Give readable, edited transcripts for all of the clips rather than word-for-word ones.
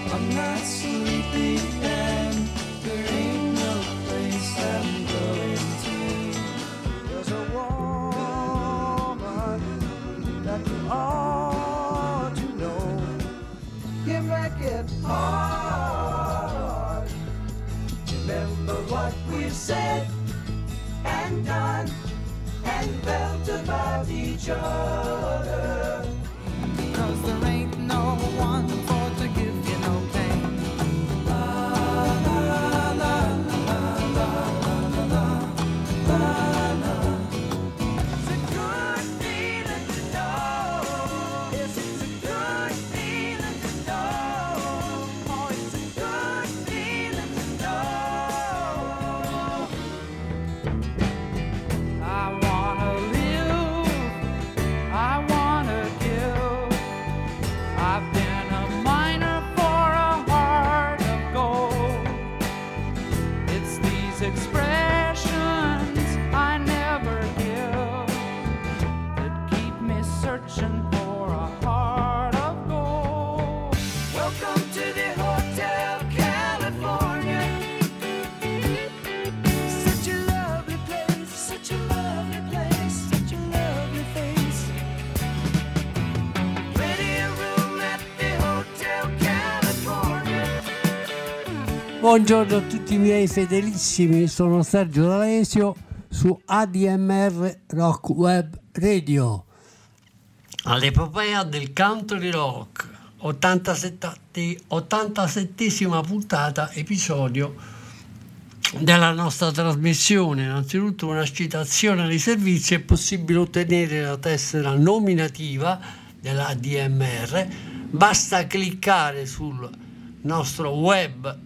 I'm not sleepy and there ain't no place I'm going to. There's a woman that you ought to know. You make it hard. Remember what we've said and done and felt about each other. 'Cause there ain't no one for to give you no pain. La la la la la la la la. It's a good feeling to know. Yes, it's a good feeling to know. Oh, it's a good feeling to know. I wanna live, I wanna give. I've been a miner for a heart of gold. It's these expressions I never give that keep me searching for a heart of gold. Welcome to the Hotel California. Such a lovely place, such a lovely place, such a lovely face. Ready a room at the Hotel California. Buongiorno a tutti i miei fedelissimi, sono Sergio D'Alesio su ADMR Rock Web Radio. All'epopea del country rock, 87esima puntata, episodio della nostra trasmissione. Innanzitutto una citazione di servizio: è possibile ottenere la tessera nominativa della ADMR, basta cliccare sul nostro web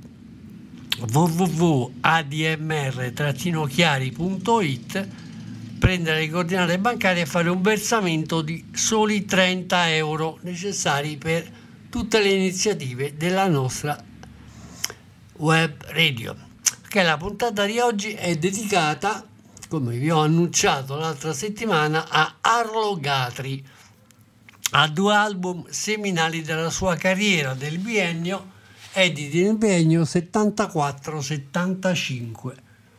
www.admr-chiari.it, prendere le coordinate bancarie e fare un versamento di soli 30 euro necessari per tutte le iniziative della nostra web radio. Che la puntata di oggi è dedicata, come vi ho annunciato l'altra settimana, a Arlo Guthrie, a 2 album seminali della sua carriera del biennio, editi nel biennio 74-75.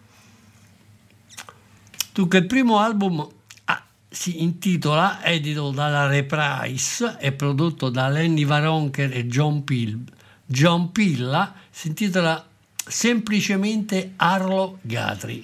Dunque, il primo album si intitola, edito dalla Reprise e prodotto da Lenny Waronker e John Pilla, si intitola semplicemente Arlo Guthrie.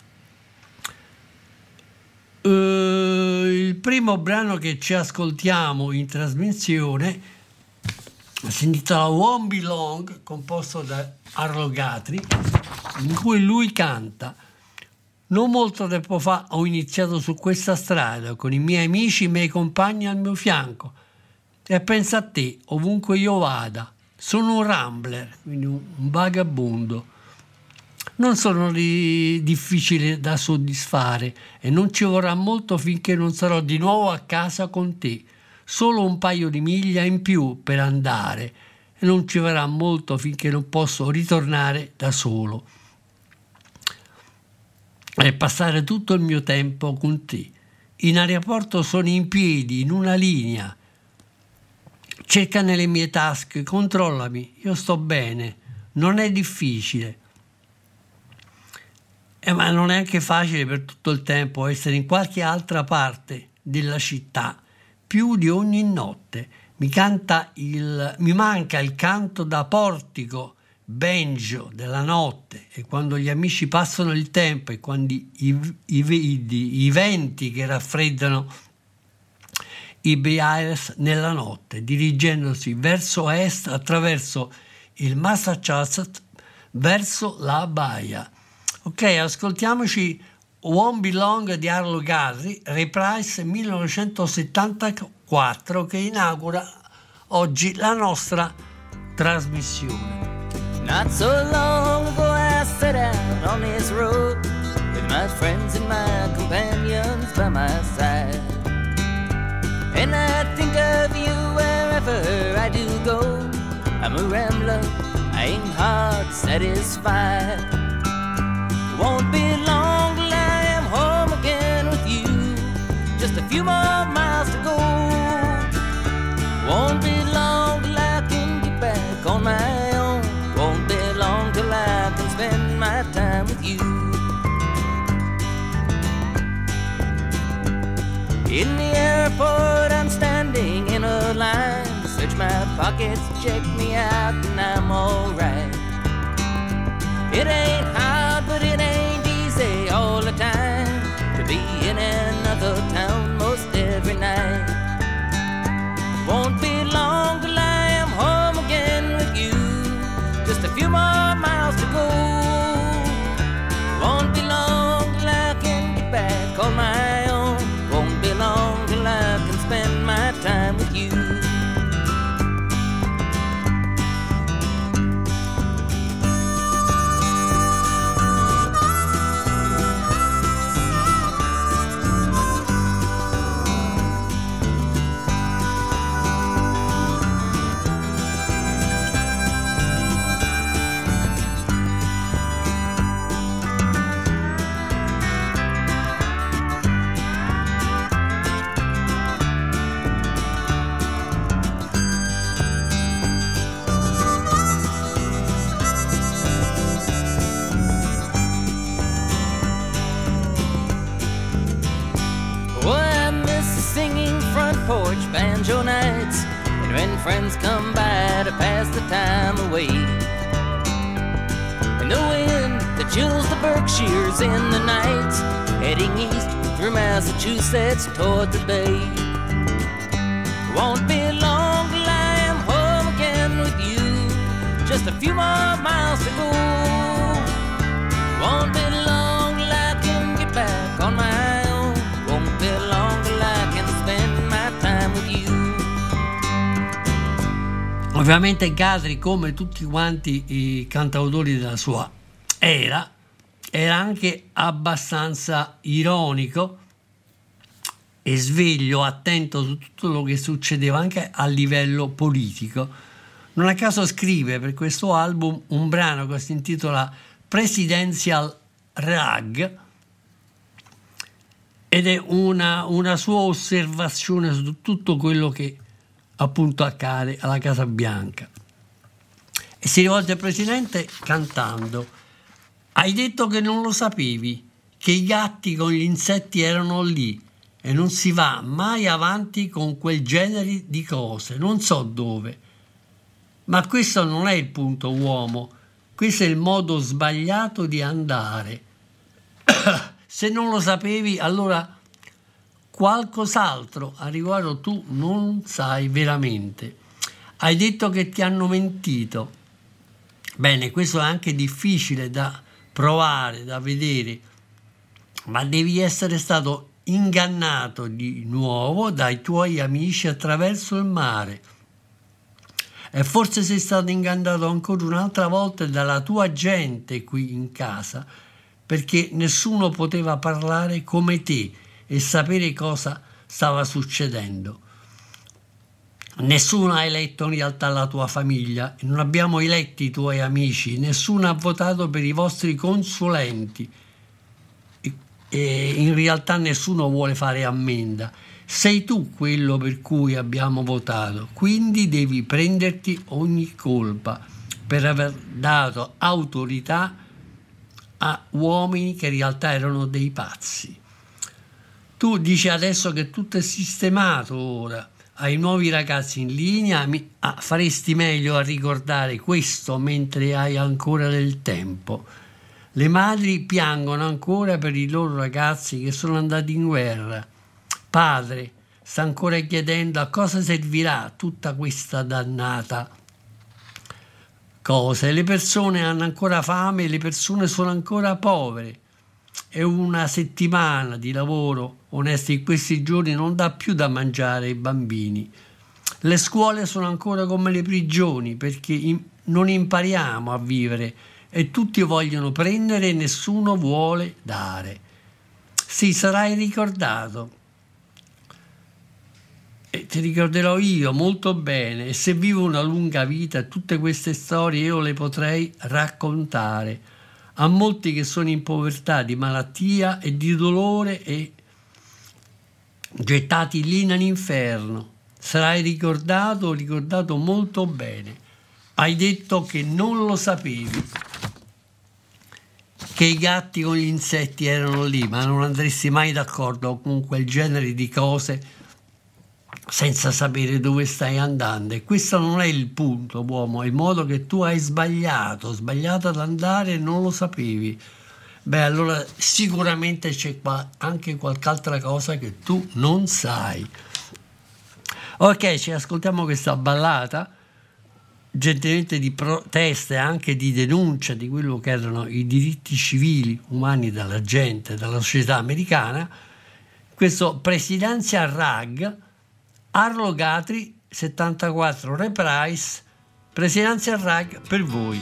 Il primo brano che ci ascoltiamo in trasmissione si intitola Won't Be Long, composto da Arlo Guthrie, in cui lui canta: non molto tempo fa ho iniziato su questa strada con i miei amici e i miei compagni al mio fianco, e pensa a te ovunque io vada, sono un rambler, quindi un vagabondo. Non sono difficili da soddisfare e non ci vorrà molto finché non sarò di nuovo a casa con te. Solo un paio di miglia in più per andare e non ci vorrà molto finché non posso ritornare da solo e passare tutto il mio tempo con te. In aeroporto sono in piedi, in una linea. Cerca nelle mie tasche, controllami, io sto bene, non è difficile. Ma non è anche facile per tutto il tempo essere in qualche altra parte della città, più di ogni notte. Mi manca il canto da portico banjo della notte, e quando gli amici passano il tempo, e quando i venti che raffreddano i Bears nella notte, dirigendosi verso est attraverso il Massachusetts verso la baia. Ok, ascoltiamoci Won't Be Long di Arlo Guthrie, Reprise 1974, che inaugura oggi la nostra trasmissione. Not so long ago I set out on this road with my friends and my companions by my side, and I think of you wherever I do go. I'm a rambler, I ain't hard satisfied. Won't be long till I am home again with you, just a few more miles to go. Won't be long till I can get back on my pockets, check me out, and I'm alright. It ain't hard, but it ain't easy all the time to be in another town most every night. Won't be long till I am home again with you. Just a few more miles to go. Won't be long till I can get back on my own. Won't be long till I can spend my time with you. Porch banjo nights, and when friends come by to pass the time away, and the wind that chills the Berkshires in the nights, heading east through Massachusetts toward the bay. Won't be long till I am home again with you. Just a few more miles to go. Won't be long till I can get back on my own. Won't be long till I can spend my time with you. Ovviamente Guthrie, come tutti quanti i cantautori della sua era anche abbastanza ironico e sveglio, attento su tutto quello che succedeva anche a livello politico. Non a caso scrive per questo album un brano che si intitola Presidential Rag, ed è una sua osservazione su tutto quello che appunto accade alla Casa Bianca. E si rivolge al presidente cantando: hai detto che non lo sapevi, che i gatti con gli insetti erano lì, e non si va mai avanti con quel genere di cose, non so dove. Ma questo non è il punto, uomo, questo è il modo sbagliato di andare. Se non lo sapevi, allora qualcos'altro a riguardo tu non sai veramente. Hai detto che ti hanno mentito. Bene, questo è anche difficile da provare, da vedere, ma devi essere stato ingannato di nuovo dai tuoi amici attraverso il mare. E forse sei stato ingannato ancora un'altra volta dalla tua gente qui in casa, perché nessuno poteva parlare come te e sapere cosa stava succedendo. Nessuno ha eletto in realtà la tua famiglia, non abbiamo eletti i tuoi amici, nessuno ha votato per i vostri consulenti e in realtà nessuno vuole fare ammenda. Sei tu quello per cui abbiamo votato, quindi devi prenderti ogni colpa per aver dato autorità a uomini che in realtà erano dei pazzi. Tu dici adesso che tutto è sistemato ora, ai nuovi ragazzi in linea, faresti meglio a ricordare questo mentre hai ancora del tempo. Le madri piangono ancora per i loro ragazzi che sono andati in guerra. Padre sta ancora chiedendo a cosa servirà tutta questa dannata cosa. Le persone hanno ancora fame, le persone sono ancora povere. E una settimana di lavoro onesto in questi giorni non dà più da mangiare ai bambini. Le scuole sono ancora come le prigioni perché non impariamo a vivere e tutti vogliono prendere e nessuno vuole dare. Sì, sarai ricordato. E ti ricorderò io molto bene, e se vivo una lunga vita tutte queste storie io le potrei raccontare a molti che sono in povertà di malattia e di dolore e gettati lì nell'inferno. Sarai ricordato molto bene. Hai detto che non lo sapevi, che i gatti con gli insetti erano lì, ma non andresti mai d'accordo con quel genere di cose senza sapere dove stai andando. E questo non è il punto, uomo, è il modo che tu hai sbagliato ad andare e non lo sapevi. Beh, allora sicuramente c'è anche qualche altra cosa che tu non sai. Ok, ci ascoltiamo questa ballata, gentilmente di protesta e anche di denuncia di quello che erano i diritti civili umani della gente, della società americana. Questo Presidential Rag, Arlo Guthrie 74 Reprise, Presidential Rag per voi.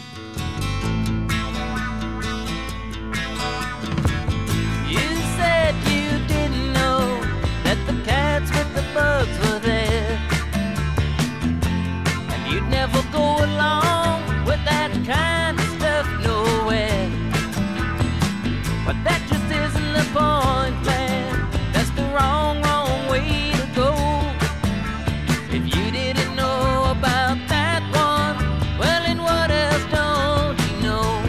Never go along with that kind of stuff nowhere. But that just isn't the point, man. That's the wrong way to go. If you didn't know about that one, well, then what else don't you know?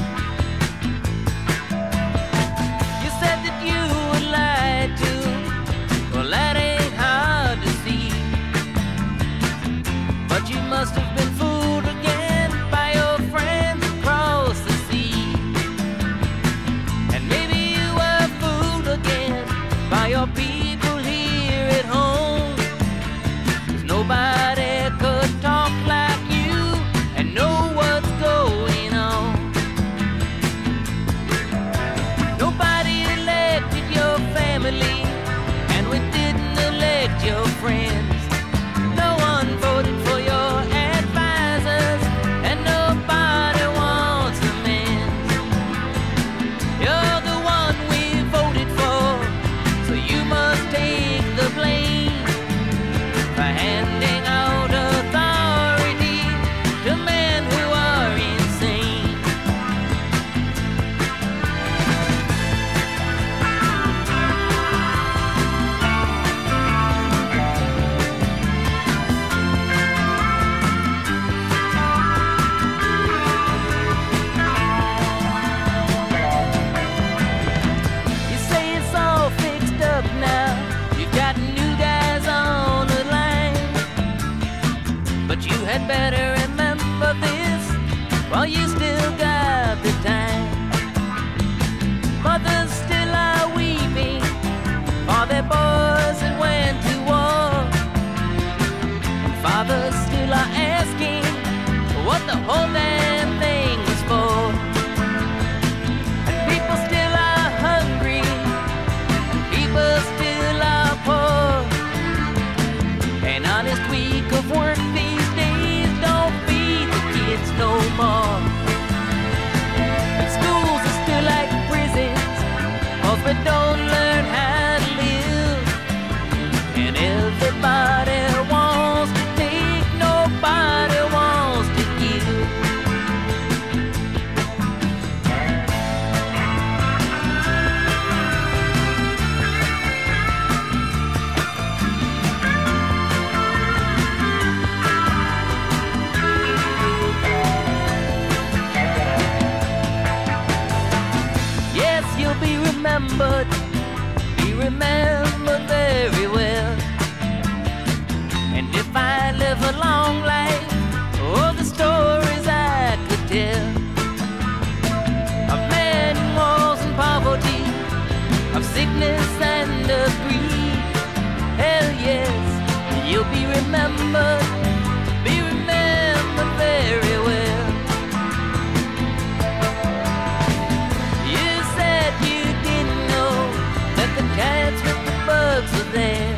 You said that you were lied to. Well, that ain't hard to see. But you must have been fooled again by your friends across the sea. And maybe you were fooled again by your people here at home. 'Cause nobody could talk like you and know what's going on. Nobody elected your family, and we didn't elect your friends. No one voted for your advisors, and nobody wants amends. You're the one we voted for, so you must take the blame for handing out authority to men who are insane. You say it's all fixed up now. You've got new guys on the line. But you had better remember this while you still got the time. Mothers still are weeping for their boys that went to war. And fathers still are asking what the whole damn thing was for. And people still are hungry, and people still are poor. An honest week of work these days don't feed the kids no more. And schools are still like prisons, 'cause we don't learn how to live. And everybody wants to take, nobody wants to give. Yes, you'll be remembered very well. And if I live a long life, oh, the stories I could tell of men in wars and poverty, of sickness and of grief. Hell yes, you'll be remembered very well. You said you didn't know that the cats with the bugs were there,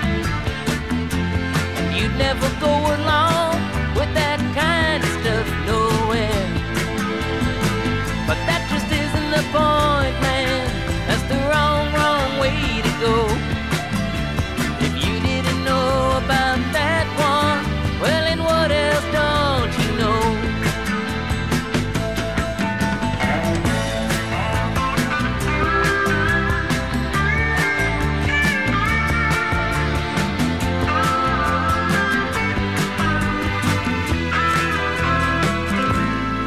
and you'd never go along with that kind of stuff nowhere. But that just isn't the point, man. That's the wrong way to go. If you didn't know about that one, well, then what else don't you know?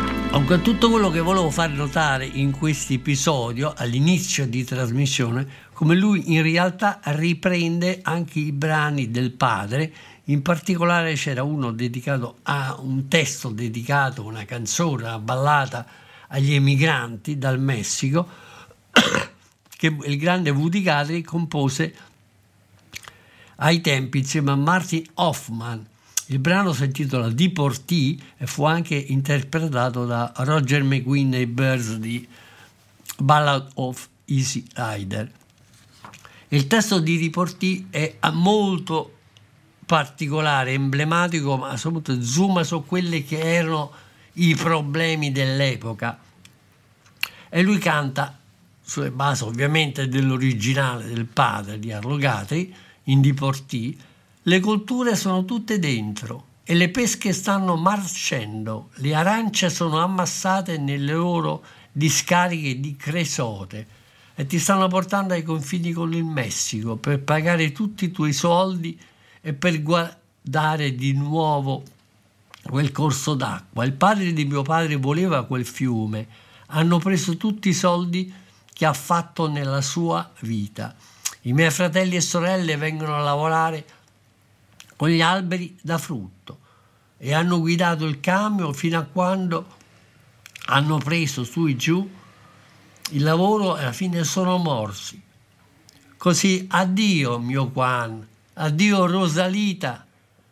Tutto quello che volevo far notare in questo episodio all'inizio di trasmissione come lui in realtà riprende anche i brani del padre. In particolare c'era uno dedicato a un testo dedicato, una canzone, una ballata agli emigranti dal Messico che il grande Woody Guthrie compose ai tempi insieme a Martin Hoffman. Il brano si intitola Deportee e fu anche interpretato da Roger McGuinn e i Birds di Ballad of Easy Rider. Il testo di Deportee è molto particolare, emblematico, ma soprattutto zooma su quelli che erano i problemi dell'epoca. E lui canta sulle basi ovviamente dell'originale del padre di Arlo Guthrie, in Deportee: le colture sono tutte dentro e le pesche stanno marcendo, le arance sono ammassate nelle loro discariche di cresote e ti stanno portando ai confini con il Messico per pagare tutti i tuoi soldi e per guardare di nuovo quel corso d'acqua. Il padre di mio padre voleva quel fiume, hanno preso tutti i soldi che ha fatto nella sua vita. I miei fratelli e sorelle vengono a lavorare con gli alberi da frutto e hanno guidato il camion fino a quando hanno preso su e giù il lavoro e alla fine sono morsi. Così addio mio Juan, addio Rosalita,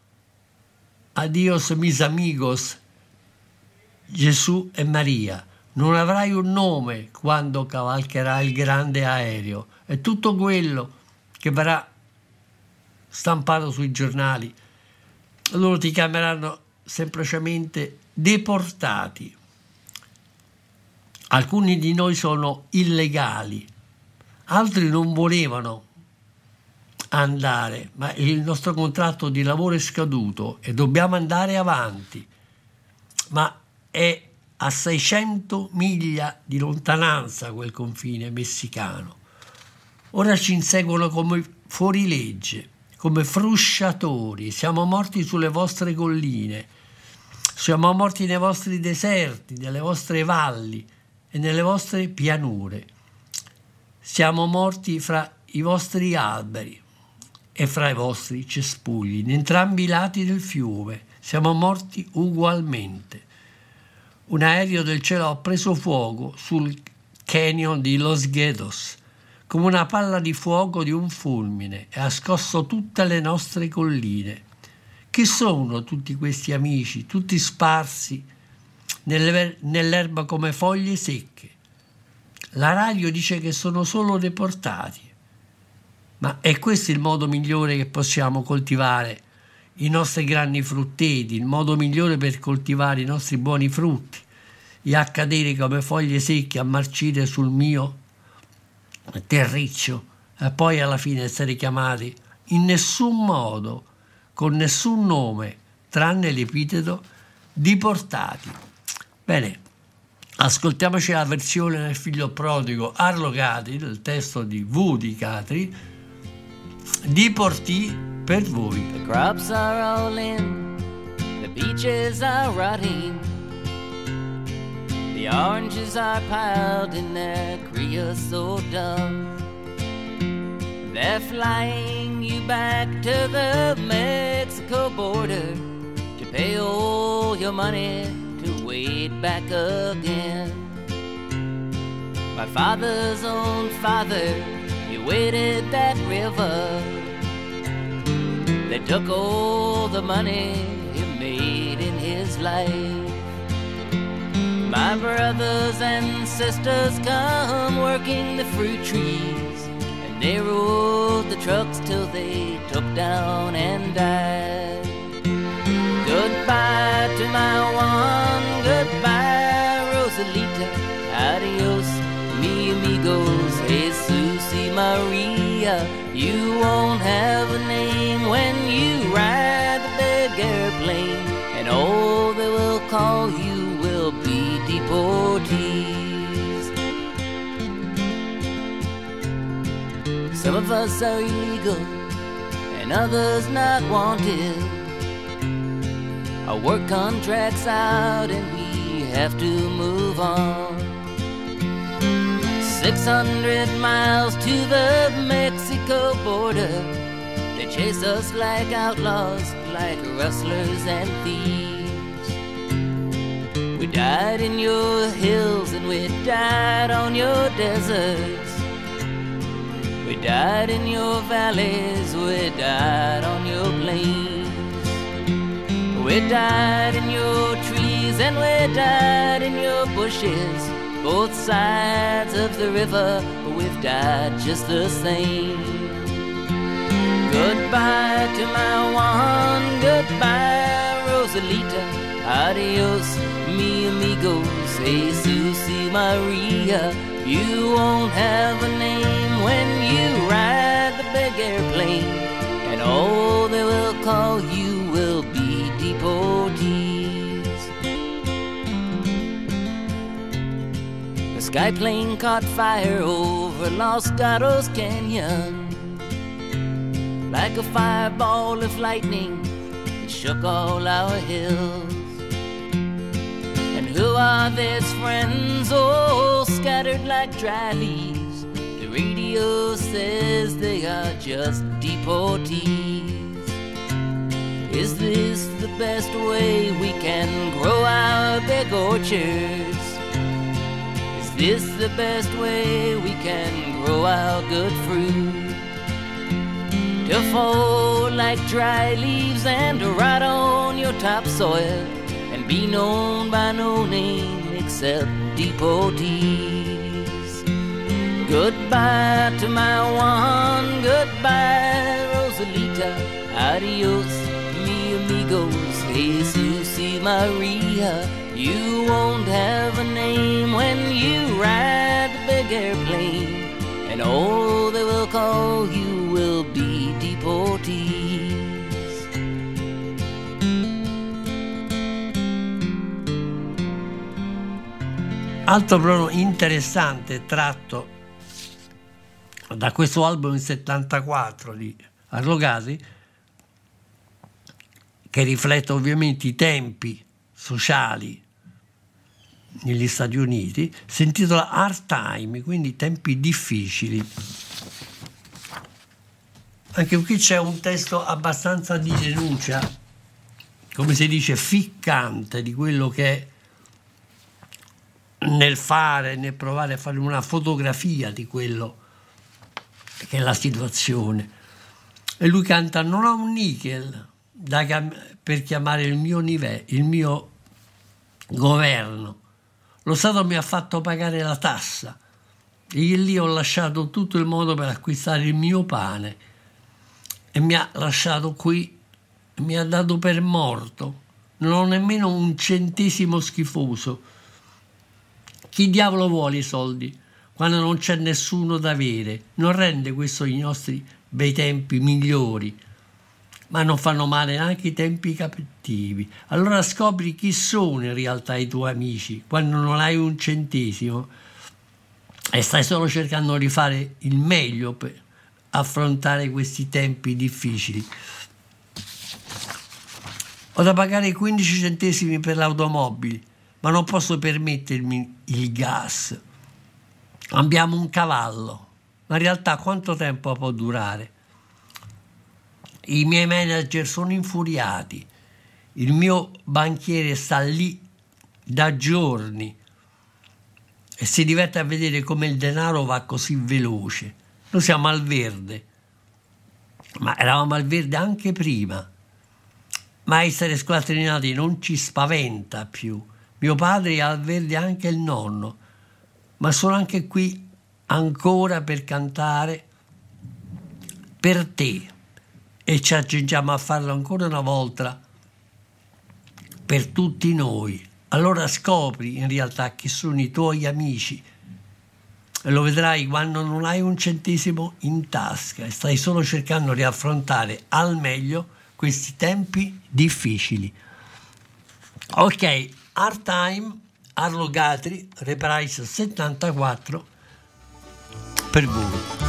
adios mis amigos, Gesù e Maria. Non avrai un nome quando cavalcherà il grande aereo e tutto quello che verrà stampato sui giornali, loro ti chiameranno semplicemente deportati. Alcuni di noi sono illegali, altri non volevano andare, ma il nostro contratto di lavoro è scaduto e dobbiamo andare avanti, ma è a 600 miglia di lontananza quel confine messicano. Ora ci inseguono come fuorilegge, come frusciatori, siamo morti sulle vostre colline, siamo morti nei vostri deserti, nelle vostre valli e nelle vostre pianure, siamo morti fra i vostri alberi e fra i vostri cespugli, in entrambi i lati del fiume, siamo morti ugualmente. Un aereo del cielo ha preso fuoco sul canyon di Los Gatos, come una palla di fuoco di un fulmine, e ha scosso tutte le nostre colline. Chi sono tutti questi amici, tutti sparsi nell'erba come foglie secche? La radio dice che sono solo deportati. Ma è questo il modo migliore che possiamo coltivare i nostri grandi frutteti, il modo migliore per coltivare i nostri buoni frutti, e a cadere come foglie secche, a marcire sul mio terriccio e poi alla fine essere chiamati in nessun modo, con nessun nome, tranne l'epiteto deportati. Bene, ascoltiamoci la versione del figlio prodigo Arlo Guthrie, del testo di Woody Guthrie, Deportee per voi. The crops are all in, the peaches are rotting, the oranges are piled in their creosote dump. They're flying you back to the Mexico border to pay all your money to wade back again. My father's own father, he waded that river. They took all the money he made in his life. My brothers and sisters come working the fruit trees, and they rode the trucks till they took down and died. Goodbye to my Juan, goodbye Rosalita, adios mi amigos, Jesus y Maria. You won't have a name when you ride the big airplane, and all they will call you will be deportees. Some of us are illegal and others not wanted. Our work contract's out and we have to move on. 600 miles to the Mexico border. They chase us like outlaws, like rustlers and thieves. We died in your hills and we died on your deserts. We died in your valleys, we died on your plains. We died in your trees and we died in your bushes. Both sides of the river, we've died just the same. Goodbye to my one, goodbye Rosalita. Adios, mi amigos, Jesus y Maria. You won't have a name when you ride the big airplane, and all they will call you will be deportees. The sky plane caught fire over Los Gatos Canyon. Like a fireball of lightning, it shook all our hills. And who are these friends, oh, scattered like dry leaves? The radio says they are just deportees. Is this the best way we can grow our big orchards? Is this the best way we can grow our good fruit? To fall like dry leaves and to rot on your topsoil and be known by no name except deportees. Goodbye to my one, goodbye Rosalita. Adios, mi amigos, Jesus y Maria. You won't have a name when you ride the big airplane, and all they will call you will be deportees. Altro brano interessante tratto da questo album del 74 di Arlogati, che riflette ovviamente i tempi sociali negli Stati Uniti, si intitola Hard Time, quindi tempi difficili. Anche qui c'è un testo abbastanza di denuncia, come si dice, ficcante di quello che è nel provare a fare una fotografia di quello che è la situazione. E lui canta: non ho un nickel per chiamare il mio governo. Lo Stato mi ha fatto pagare la tassa e lì ho lasciato tutto il modo per acquistare il mio pane e mi ha lasciato qui, mi ha dato per morto. Non ho nemmeno un centesimo schifoso. Chi diavolo vuole i soldi quando non c'è nessuno da avere? Non rende questo i nostri bei tempi migliori, ma non fanno male neanche i tempi cattivi. Allora scopri chi sono in realtà i tuoi amici quando non hai un centesimo e stai solo cercando di fare il meglio per affrontare questi tempi difficili. Ho da pagare 15 centesimi per l'automobile, ma non posso permettermi il gas. Abbiamo un cavallo, ma in realtà quanto tempo può durare? I miei manager sono infuriati, il mio banchiere sta lì da giorni e si diverte a vedere come il denaro va così veloce. Noi siamo al verde, ma eravamo al verde anche prima, ma essere squattrinati non ci spaventa più. Mio padre è al verde, anche il nonno, ma sono anche qui ancora per cantare per te, e ci accingiamo a farlo ancora una volta per tutti noi. Allora scopri in realtà chi sono i tuoi amici e lo vedrai quando non hai un centesimo in tasca e stai solo cercando di affrontare al meglio questi tempi difficili. Ok, Hard Time, Arlo Guthrie, Reprise 74 per voi.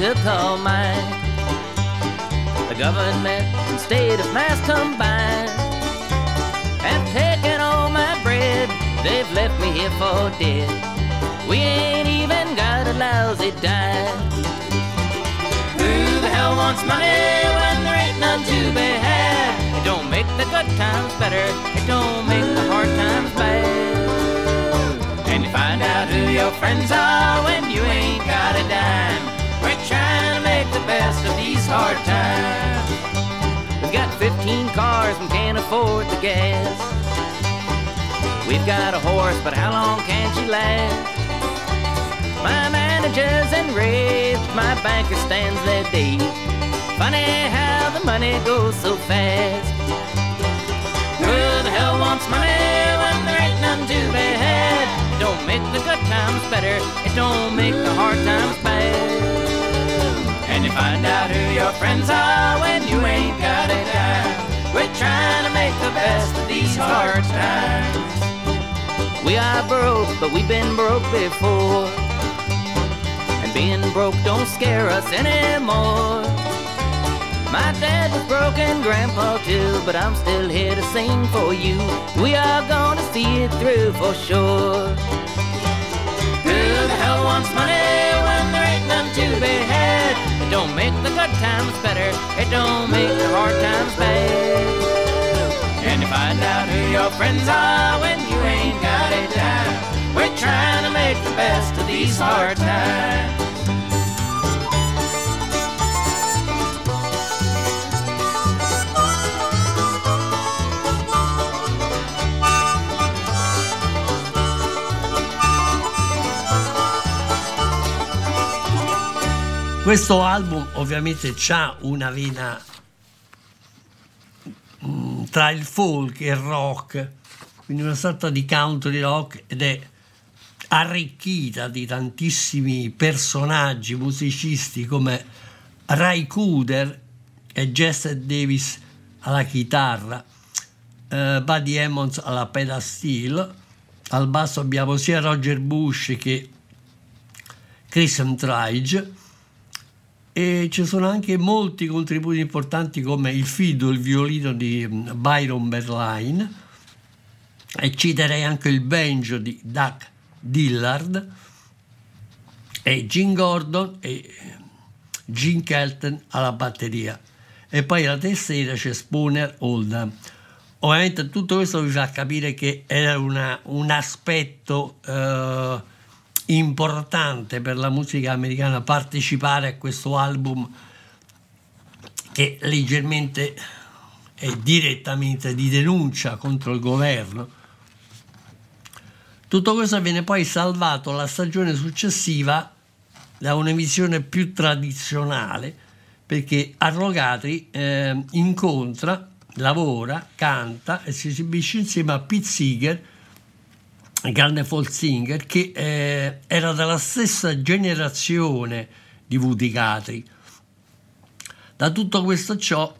to call mine. The government and state of Mass combined have taken all my bread. They've left me here for dead. We ain't even got a lousy dime. Who the hell wants money when there ain't none to be had? It don't make the good times better, it don't make the hard times bad. And you find out who your friends are when you ain't got a dime. We're trying to make the best of these hard times. We've got 15 cars and can't afford the gas. We've got a horse, but how long can she last? My manager's enraged, my banker stands there dazed. Funny how the money goes so fast. Who the hell wants money when there ain't none to be had? It don't make the good times better, it don't make the hard times bad. And you find out who your friends are when you ain't got a dime. We're trying to make the best of these hard times. We are broke, but we've been broke before. Being broke don't scare us anymore. My dad was broke and Grandpa too, but I'm still here to sing for you. We are gonna see it through for sure. Who the hell wants money when there ain't none to be had? It don't make the good times better, it don't make the hard times bad. And you find out who your friends are when you ain't got a dime. We're trying to make the best of these hard times. Questo album ovviamente c'ha una vena tra il folk e il rock, quindi una sorta di country rock, ed è arricchita di tantissimi personaggi musicisti come Ray Cooder e Jesse Davis alla chitarra, Buddy Emmons alla pedal steel, al basso abbiamo sia Roger Bush che Chris Entridge, e ci sono anche molti contributi importanti come il fiddle, il violino di Byron Berline, e citerei anche il banjo di Doug Dillard e Jim Gordon e Gene Kelton alla batteria, e poi alla tastiera c'è Spooner Oldham. Ovviamente tutto questo vi fa capire che era un aspetto importante per la musica americana partecipare a questo album, che leggermente e direttamente di denuncia contro il governo. Tutto questo viene poi salvato la stagione successiva da un'emissione più tradizionale, perché Arlo Guthrie incontra, lavora, canta e si esibisce insieme a Pete Seeger, grande folk singer, che era della stessa generazione di Woody Guthrie. Da tutto questo ciò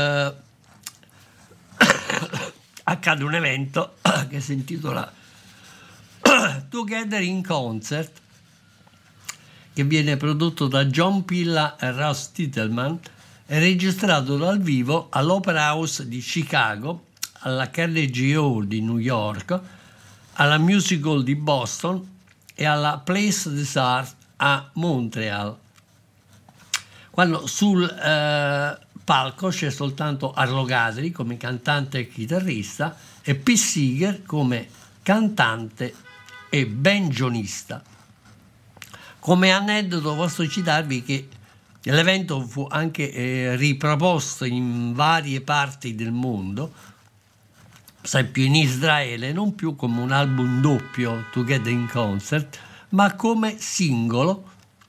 accade un evento che si intitola Together in Concert, che viene prodotto da John Pilla e Russ Titelman e registrato dal vivo all'Opera House di Chicago, alla Carnegie Hall di New York, alla Music Hall di Boston e alla Place des Arts a Montreal. Quando sul palco c'è soltanto Arlo Guthrie come cantante e chitarrista e Pete Seeger come cantante e banjonista. Come aneddoto posso citarvi che l'evento fu anche riproposto in varie parti del mondo, sempre in Israele, non più come un album doppio Together in Concert, ma come singolo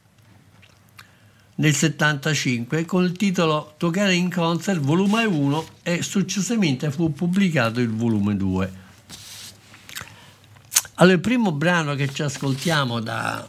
nel 75 con il titolo Together in Concert volume 1, e successivamente fu pubblicato il volume 2. Allora, il primo brano che ci ascoltiamo da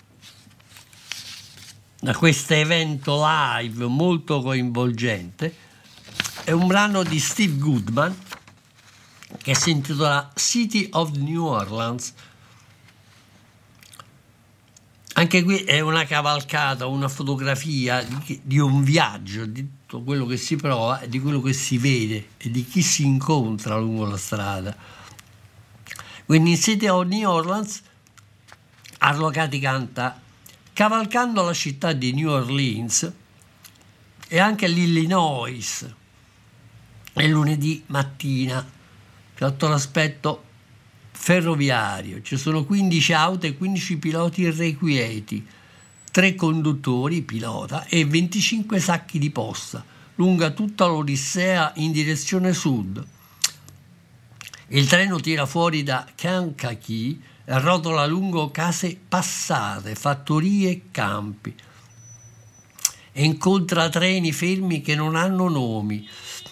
questo evento live molto coinvolgente è un brano di Steve Goodman che si intitola City of New Orleans. Anche qui è una cavalcata, una fotografia di un viaggio, di tutto quello che si prova e di quello che si vede e di chi si incontra lungo la strada. Quindi in City of New Orleans Arlo Gatti canta: cavalcando la città di New Orleans e anche l'Illinois è lunedì mattina sotto l'aspetto ferroviario. Ci sono 15 auto e 15 piloti irrequieti, 3 conduttori, pilota, e 25 sacchi di posta, lunga tutta l'Odissea in direzione sud. Il treno tira fuori da Kankakee e rotola lungo case passate, fattorie e campi, e incontra treni fermi che non hanno nomi.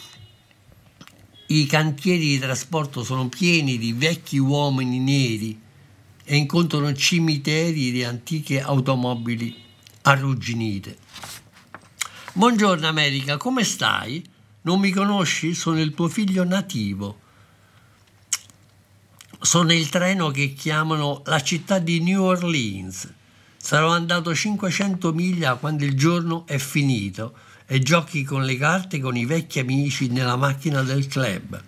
I cantieri di trasporto sono pieni di vecchi uomini neri e incontrano cimiteri di antiche automobili arrugginite. Buongiorno America, come stai? Non mi conosci? Sono il tuo figlio nativo. Sono il treno che chiamano la città di New Orleans. Sarò andato 500 miglia quando il giorno è finito e giochi con le carte con i vecchi amici nella macchina del club.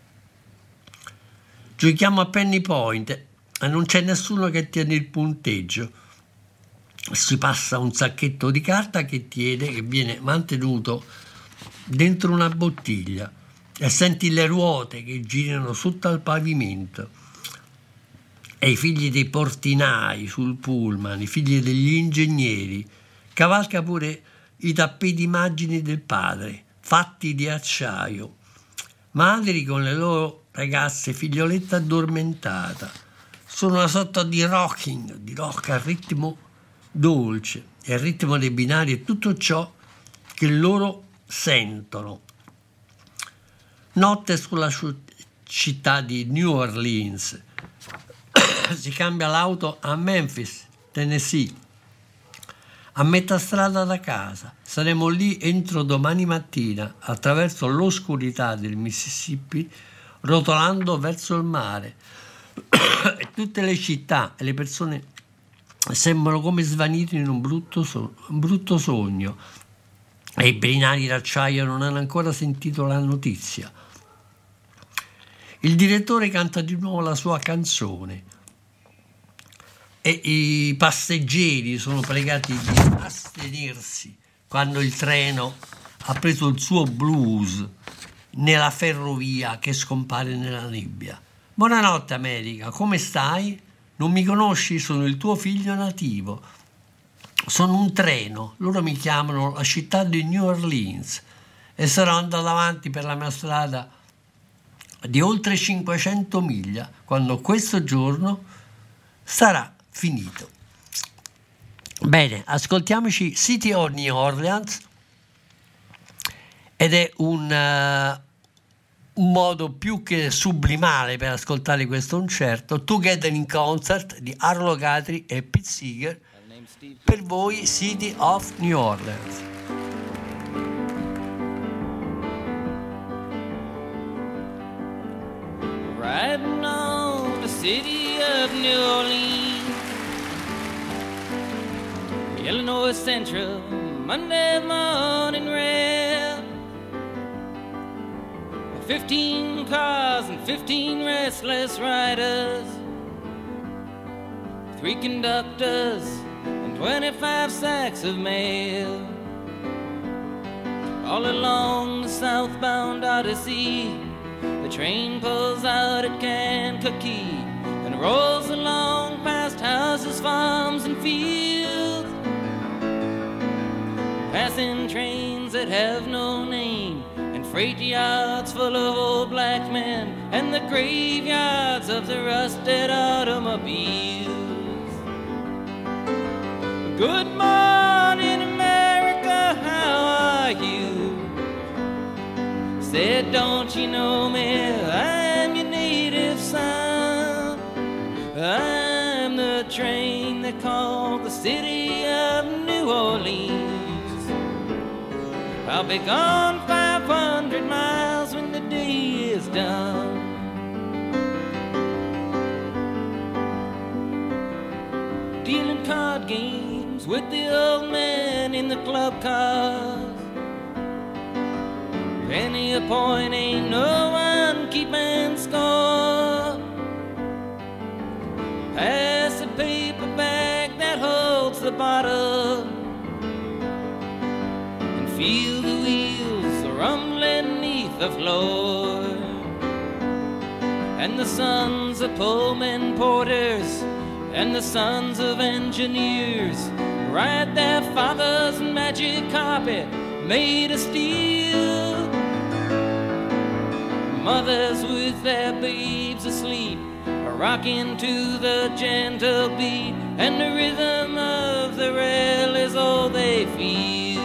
Giochiamo a penny point e non c'è nessuno che tiene il punteggio. Si passa un sacchetto di carta che viene mantenuto dentro una bottiglia e senti le ruote che girano sotto al pavimento e i figli dei portinai sul pullman, i figli degli ingegneri. Cavalca pure i tappeti immagini del padre, fatti di acciaio, madri con le loro ragazze, figlioletta addormentata. Sono una sorta di rocking, di rock al ritmo dolce, e il ritmo dei binari è tutto ciò che loro sentono. Notte sulla città di New Orleans. Si cambia l'auto a Memphis, Tennessee, a metà strada da casa. Saremo lì entro domani mattina, attraverso l'oscurità del Mississippi, rotolando verso il mare. E tutte le città e le persone sembrano come svanite in un brutto sogno, e i binari d'acciaio non hanno ancora sentito la notizia. Il direttore canta di nuovo la sua canzone e i passeggeri sono pregati di astenersi quando il treno ha preso il suo blues nella ferrovia che scompare nella nebbia. Buonanotte America, come stai? Non mi conosci? Sono il tuo figlio nativo. Sono un treno, loro mi chiamano la città di New Orleans e sarò andato avanti per la mia strada di oltre 500 miglia quando questo giorno sarà finito. Bene, ascoltiamoci City of New Orleans, ed è un modo più che sublimale per ascoltare questo concerto, Together in Concert di Arlo Guthrie e Pete Seeger, per voi City of New Orleans. Riding on the city of New Orleans, Illinois Central, Monday morning rail. 15 cars and 15 restless riders, 3 conductors and 25 sacks of mail. All along the southbound Odyssey, the train pulls out at Kankakee and rolls along past houses, farms, and fields, passing trains that have no name, and freight yards full of old black men, and the graveyards of the rusted automobiles. Good morning, America, how are you? Said, don't you know me? I'm your native son. I'm the train they call the city of New Orleans. I'll be gone 500 miles when the day is done. Dealing card games with the old man in the club cars. Penny a point, ain't no one keeping score. Pass the paper bag that holds the bottle, and feel the wheels rumbling neath the floor. And the sons of pullman porters and the sons of engineers ride their father's magic carpet made of steel. Mothers with their babes asleep are rocking to the gentle beat, and the rhythm of the rail is all they feel.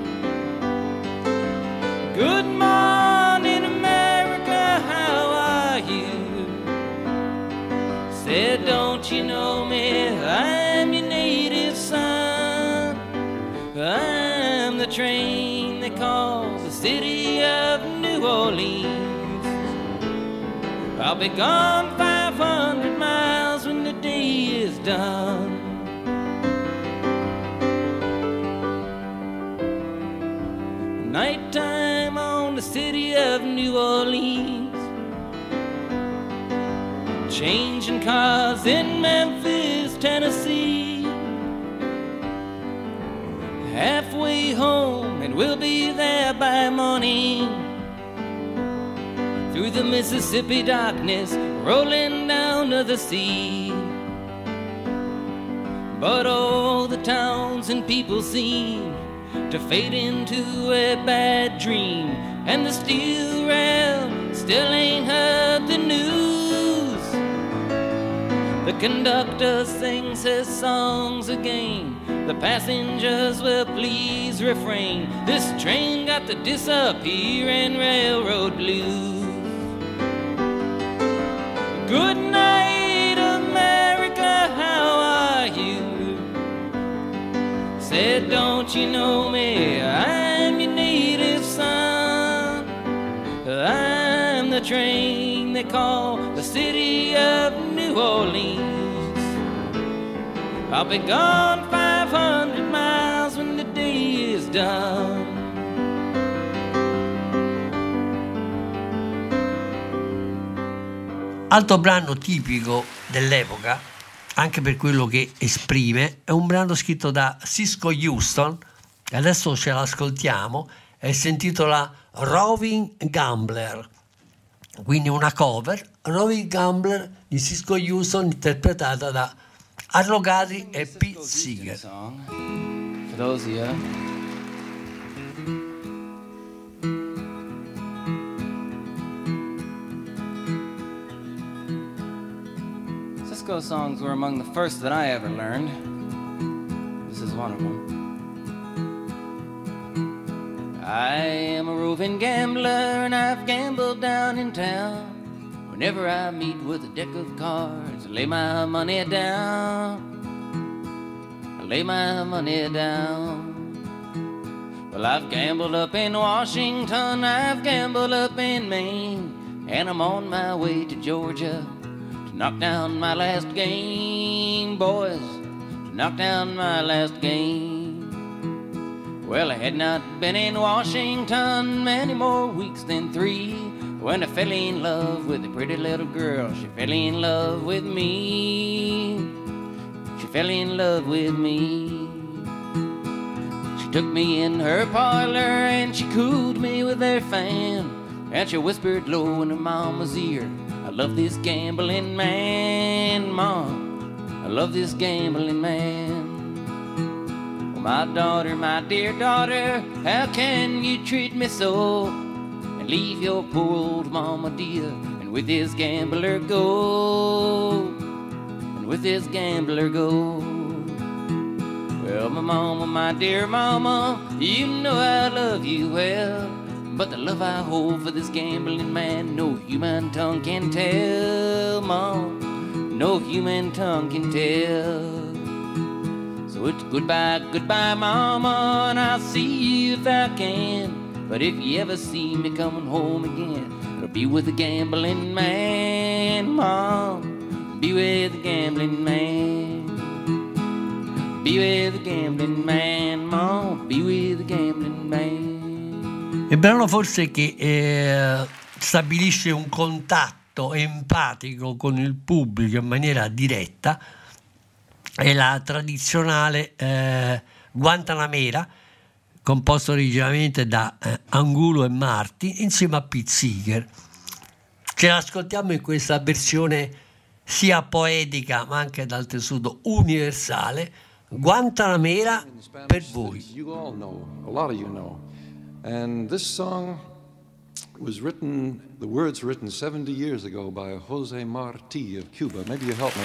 Good morning, America, how are you? Said, don't you know me? I'm your native son. I'm the train they call the city of New Orleans. I'll be gone 500 miles when the day is done. Nighttime on the city of New Orleans, changing cars in Memphis, Tennessee. Halfway home and we'll be there by morning. Through the Mississippi darkness, rolling down to the sea. But all the towns and people seem to fade into a bad dream, and the steel rail still ain't heard the news. The conductor sings his songs again, the passengers will please refrain. This train got the disappearing railroad blues. Good night, America, how are you? Said, don't you know me? I'm your native son. I'm the train they call the city of New Orleans. I'll be gone 500 miles when the day is done. Altro brano tipico dell'epoca, anche per quello che esprime, è un brano scritto da Cisco Houston, e adesso ce l'ascoltiamo, e si intitola Roving Gambler, quindi una cover, Roving Gambler di Cisco Houston, interpretata da Arlo Guthrie e Pete Seeger. For those of you Cisco songs were among the first that I ever learned. This is one of them. I am a roving gambler and I've gambled down in town. Whenever I meet with a deck of cards, I lay my money down. I lay my money down. Well, I've gambled up in Washington, I've gambled up in Maine, and I'm on my way to Georgia to knock down my last game, boys, to knock down my last game. Well, I had not been in Washington many more weeks than 3 when I fell in love with a pretty little girl. She fell in love with me. She fell in love with me. She took me in her parlor and she cooled me with her fan, and she whispered low in her mama's ear, I love this gambling man, Mom, I love this gambling man. Oh, my daughter, my dear daughter, how can you treat me so, and leave your poor old mama dear, and with this gambler go, and with this gambler go. Well, my mama, my dear mama, you know I love you well, but the love I hold for this gambling man, no human tongue can tell, Mom, no human tongue can tell. So it's goodbye, goodbye, mama, and I'll see you if I can. But if you ever see me coming home again, it'll be with a gambling man, Mom, be with a gambling man. Be with the gambling man, ma, be with the gambling man. Il brano forse che stabilisce un contatto empatico con il pubblico in maniera diretta è la tradizionale Guantanamera, composto originariamente da Angulo e Marti insieme a Pete Seeger. Ce l'ascoltiamo in questa versione sia poetica ma anche dal tessuto universale. Guantanamera per voi. You all know, a lot of you know. And this song was written, the words written 70 years ago by Jose Marti of Cuba. Maybe you help me.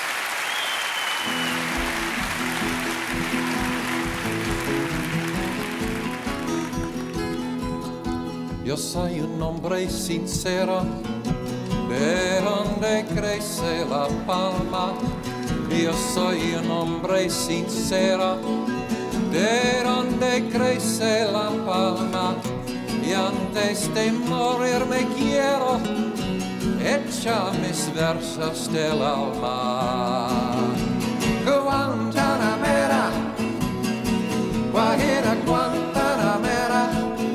Yo soy un hombre sincero, de donde crece la palma. Yo soy un hombre sincero, de donde crece la palma. Y antes de morir me quiero echar mis versos del alma. Guantanamera, Guajira Guantanamera,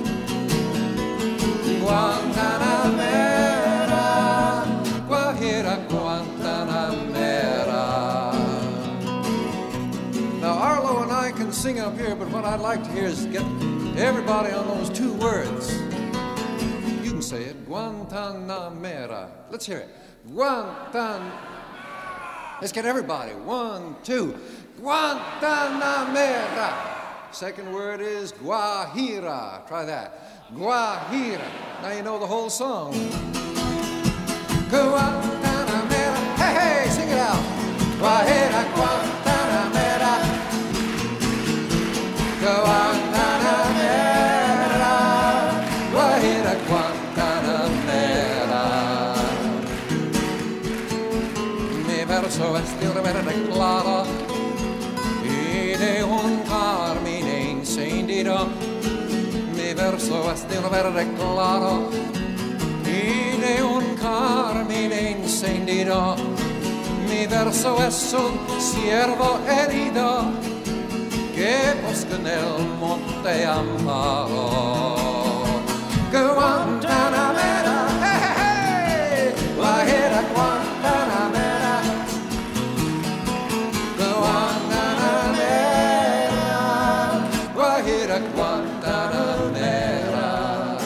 Guantanamera, Guajira Guantanamera. Now Arlo and I can sing up here, but what I'd like to hear is get everybody on those two words. You can say it, Guantanamera. Let's hear it. Let's get everybody. 1, 2. Guantanamera. Second word is Guajira. Try that. Guajira. Now you know the whole song. Guantanamera. Hey, hey, sing it out. Guajira, Guantanamera. Guantanamera. Guajira, Guantanamera. Mi verso es de un verde claro y de un carmine encendido. Mi verso es de un verde claro y de un carmine encendido. Mi verso es un ciervo herido que busca en el monte amparo. Guantanamera, hey, hey, hey, Guajira Guantanamera, Guantanamera, Guajira Guantanamera.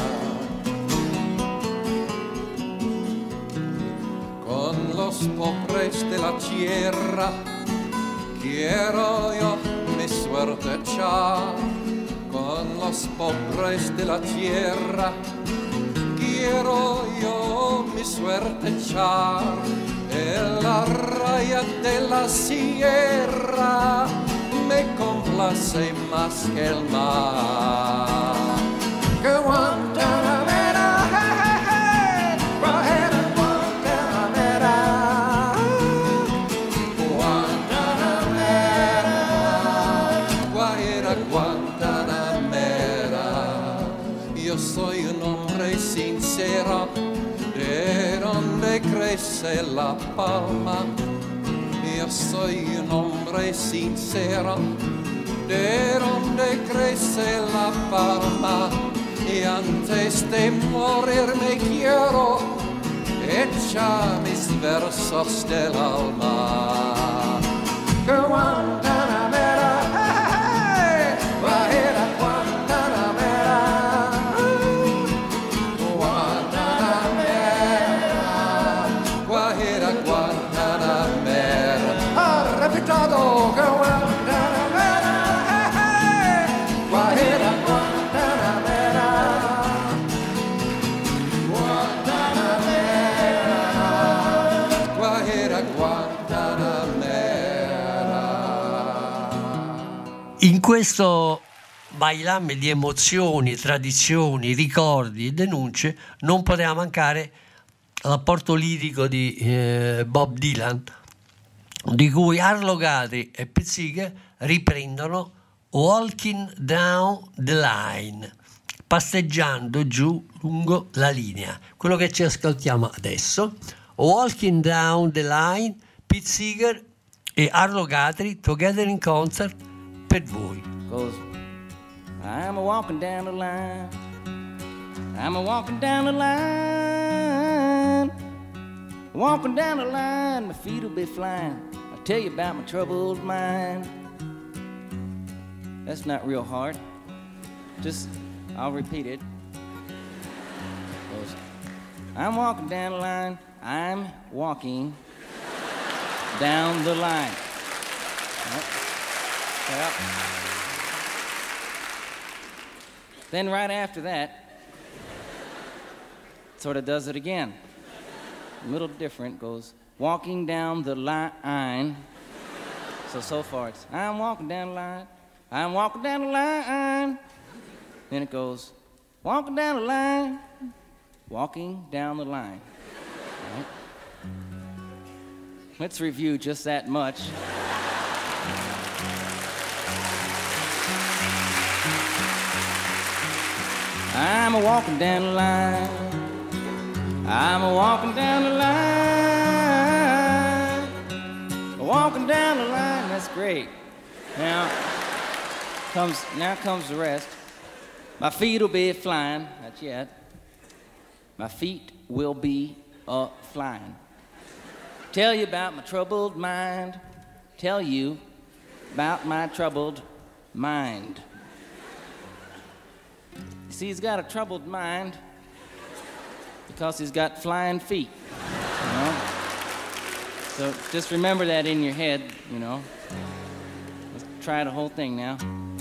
Con los pobres de la tierra quiero yo mi suerte echar. Con los pobres de la tierra quiero yo mi suerte echar. En la raya de la sierra me complace más que el mar. Guantanamera, hey, hey, hey, Guajira Guantanamera, Guantanamera, Guajira Guantanamera. Yo soy un hombre sincero, de donde crece la palma. Yo soy un hombre sincero, de donde crece la palma. Y antes de morir me quiero echar mis versos del alma. Guantanamera, hey, Guajira Guantanamera, Guantanamera, Guajira Guantanamera. Repitado, Guantanamera, hey, Guajira Guantanamera, Guantanamera, Guajira Guantanamera. In questo bailame di emozioni, tradizioni, ricordi e denunce non poteva mancare l'apporto lirico di Bob Dylan, di cui Arlo Guthrie e Pete Seeger riprendono Walking Down the Line, passeggiando giù lungo la linea. Quello che ci ascoltiamo adesso, Walking Down the Line, Pete Seeger, e Arlo Guthrie Together in Concert per voi. Goes, I'm a walking down the line. I'm a walking down the line. Walking down the line, my feet will be flying. I'll tell you about my troubled mind. That's not real hard. Just, I'll repeat it. Goes, I'm walking down the line. I'm walking down the line. Well, then right after that, sort of does it again. A little different, goes walking down the line. So far it's I'm walking down the line. I'm walking down the line. Then it goes walking down the line. Walking down the line. Right. Let's review just that much. I'm a walking down the line. I'm a walking down the line. Walking down the line. That's great. Now comes the rest. My feet will be flying. Not yet. My feet will be flying. Tell you about my troubled mind. Tell you about my troubled mind. You see, he's got a troubled mind because he's got flying feet, you know? So just remember that in your head, you know. Let's try the whole thing now.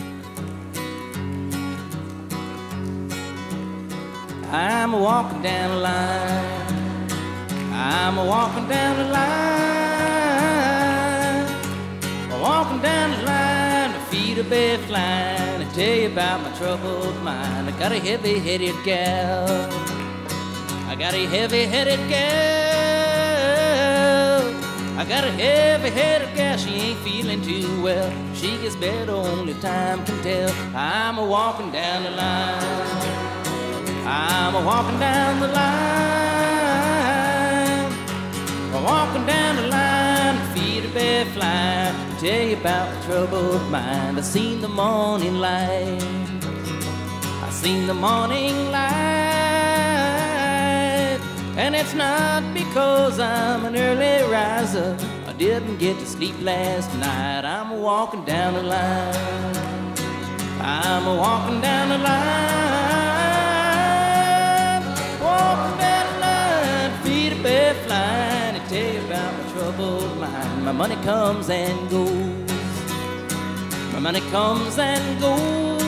I'm a walking down the line. I'm a walking down the line. I'm walking down the line. My feet will be flying. I tell you about my troubled mind. I got a heavy-headed gal. I got a heavy-headed gal. I got a heavy-headed gal. She ain't feeling too well. She gets better, only time can tell. I'm a walking down the line. I'm a walking down the line. I'm walking down the line, feet are bare flying. Tell you about my troubled mind. I seen the morning light. I seen the morning light. And it's not because I'm an early riser. I didn't get to sleep last night. I'm a walking down the line. I'm a walking down the line. Walking down the line, feet are bare flying. I tell you about my troubled mind. My money comes and goes. My money comes and goes.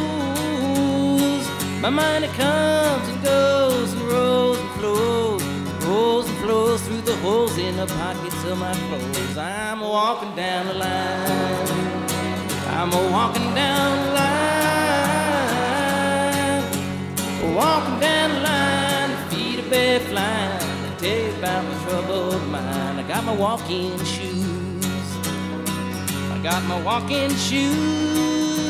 My money comes and goes and rolls and flows. Rolls and flows through the holes in the pockets of my clothes. I'm walking down the line. I'm walking down the line. Walking down the line, feet are bare flying. I tell you about my troubled mind. I got my walking shoes. I got my walking shoes.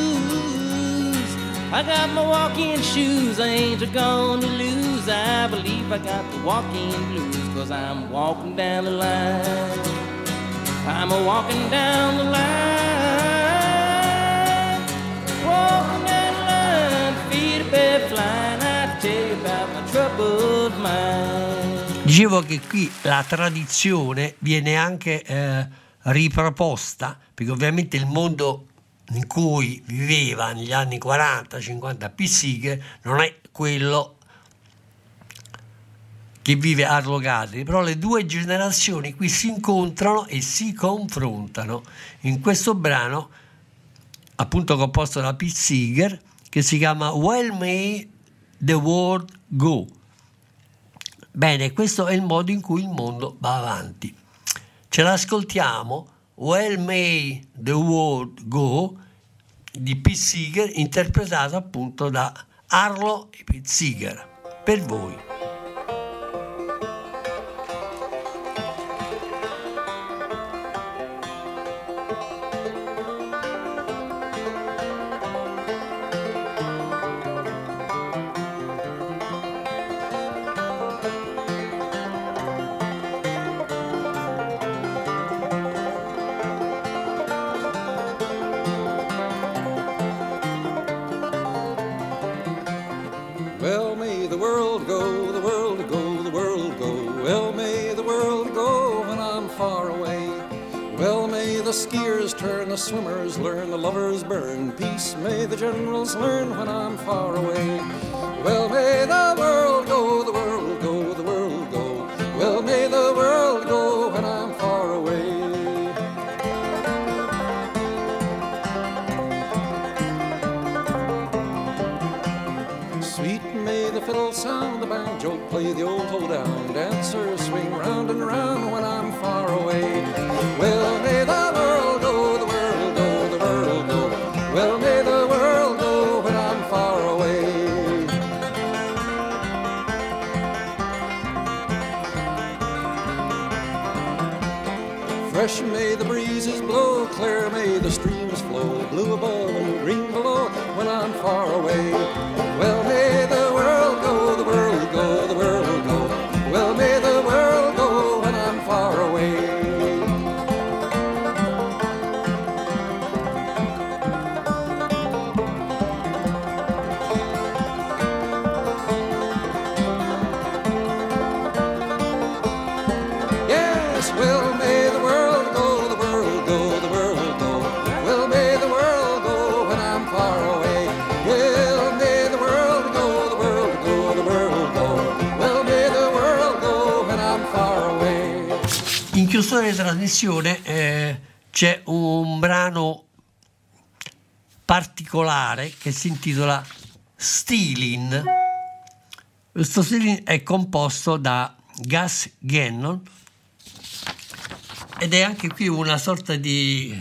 I got my walking shoes. I ain't gonna lose. I believe I got the walking blues. 'Cause I'm walking down the line. I'm a walking down the line. Walking down the line, feet are bare flying. I tell you about my troubled mind. Dicevo che qui la tradizione viene anche riproposta, perché ovviamente il mondo in cui viveva negli anni 40-50 Pete Seeger non è quello che vive Arlo Guthrie, però le due generazioni qui si incontrano e si confrontano in questo brano appunto composto da Pete Seeger che si chiama Well May the World Go. Bene, questo è il modo in cui il mondo va avanti. Ce l'ascoltiamo, Well May the World Go di Pete Seeger, interpretato appunto da Arlo e Pete Seeger, per voi. the skiers turn, the swimmers learn, the lovers burn. Peace may the generals learn when I'm far away. Well, may the world go, the world go, the world go. Well, may the world go when I'm far away. Sweet may the fiddle sound, the banjo play the old hold-down. Dancers swing round and round when I'm far away. Well, may the world go, the world go, the world go. Well, may the world go when I'm far away. Fresh may the breezes blow, clear may the streams flow, blue above and green below when I'm far away. Well, may the world go, the world go, the world go. Well, may the world go when I'm far away. Yes, well, may the world go, the world go, the world go. Well, may the world go when I'm far away. Well, may the world go, the world go, the world go. Well, may the world go when I'm far away. In chiusura di trasmissione c'è un brano particolare che si intitola Stealin'. Questo Stealin' è composto da Gus Gannon ed è anche qui una sorta di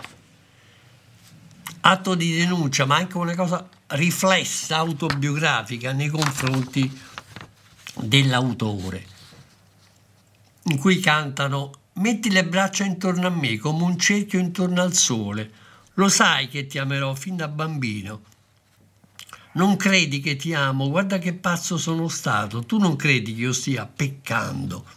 atto di denuncia, ma anche una cosa riflessa, autobiografica nei confronti dell'autore, in cui cantano: metti le braccia intorno a me come un cerchio intorno al sole, lo sai che ti amerò fin da bambino. Non credi che ti amo, guarda che pazzo sono stato, tu non credi che io stia peccando.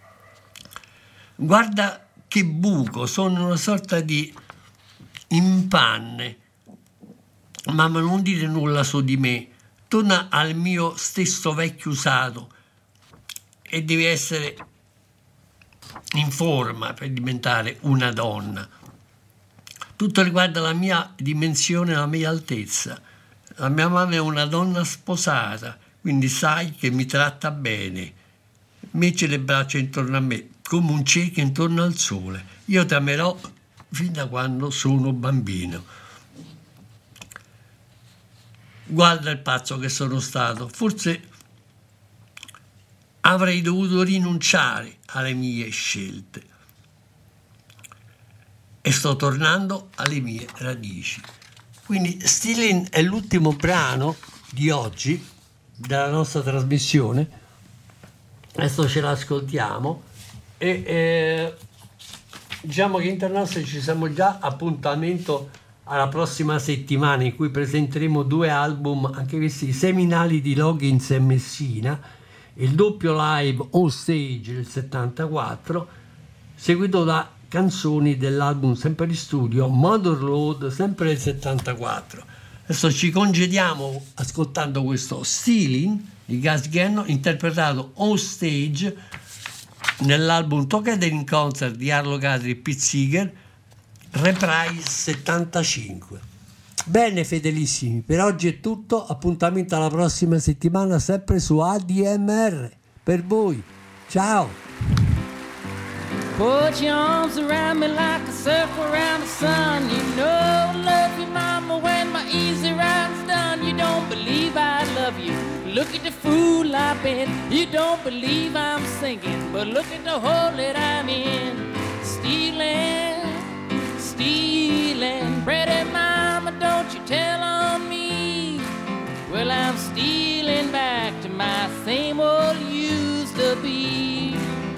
Guarda che buco, sono una sorta di impanne, ma non dire nulla su di me, torna al mio stesso vecchio usato e devi essere in forma per diventare una donna. Tutto riguarda la mia dimensione, la mia altezza. La mia mamma è una donna sposata, quindi sai che mi tratta bene. Metti le braccia intorno a me come un cerchio intorno al sole. Io ti amerò fin da quando sono bambino. Guarda il pazzo che sono stato. Forse avrei dovuto rinunciare alle mie scelte. E sto tornando alle mie radici. Quindi Stealin' è l'ultimo brano di oggi della nostra trasmissione. Adesso ce l'ascoltiamo e diciamo che internazionale ci siamo già appuntamento alla prossima settimana, in cui presenteremo 2 album, anche questi seminali, di Loggins e Messina, il doppio live On Stage del 74, seguito da canzoni dell'album sempre di studio Motherload, sempre del 74. Adesso ci congediamo ascoltando questo Stealin' di Gus Gannon, interpretato On Stage nell'album Together in Concert di Arlo Guthrie e Pete Seeger, Reprise 75. Bene fedelissimi, per oggi è tutto, appuntamento alla prossima settimana sempre su ADMR per voi, ciao. Put your arms around me like a circle around the sun. You know I love you, mama, when my easy ride's done. You don't believe I love you, look at the fool I've been. You don't believe I'm singing, but look at the hole that I'm in. Stealing, stealing, pretty mama, don't you tell on me. Well, I'm stealing back to my same old used to be.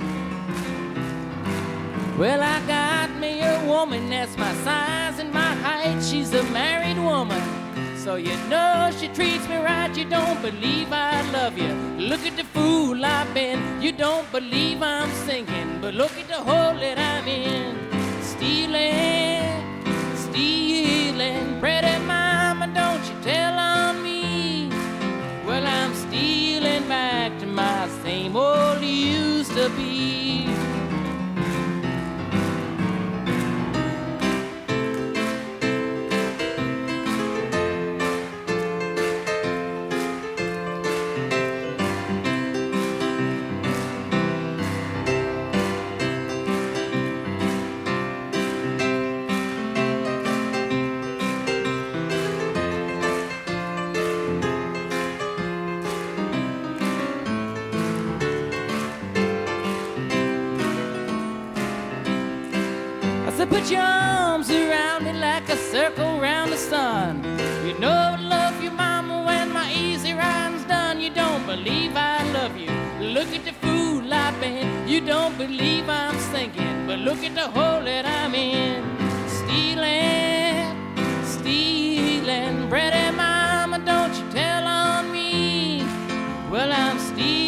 Well, I got me a woman that's my size and my height. She's a married woman, so you know she treats me right. You don't believe I love you, look at the fool I've been. You don't believe I'm singing, but look at the hole that I'm in. Stealing, stealing, pretty mama, don't you tell on me. Well, I'm stealing back to my same old used to be. put your arms around me like a circle around the sun. You know I love you, mama, when my easy ride's done. You don't believe I love you. Look at the fool I've been. You don't believe I'm sinking, but look at the hole that I'm in. Stealing, stealing, Brady, mama, don't you tell on me. Well, I'm stealing.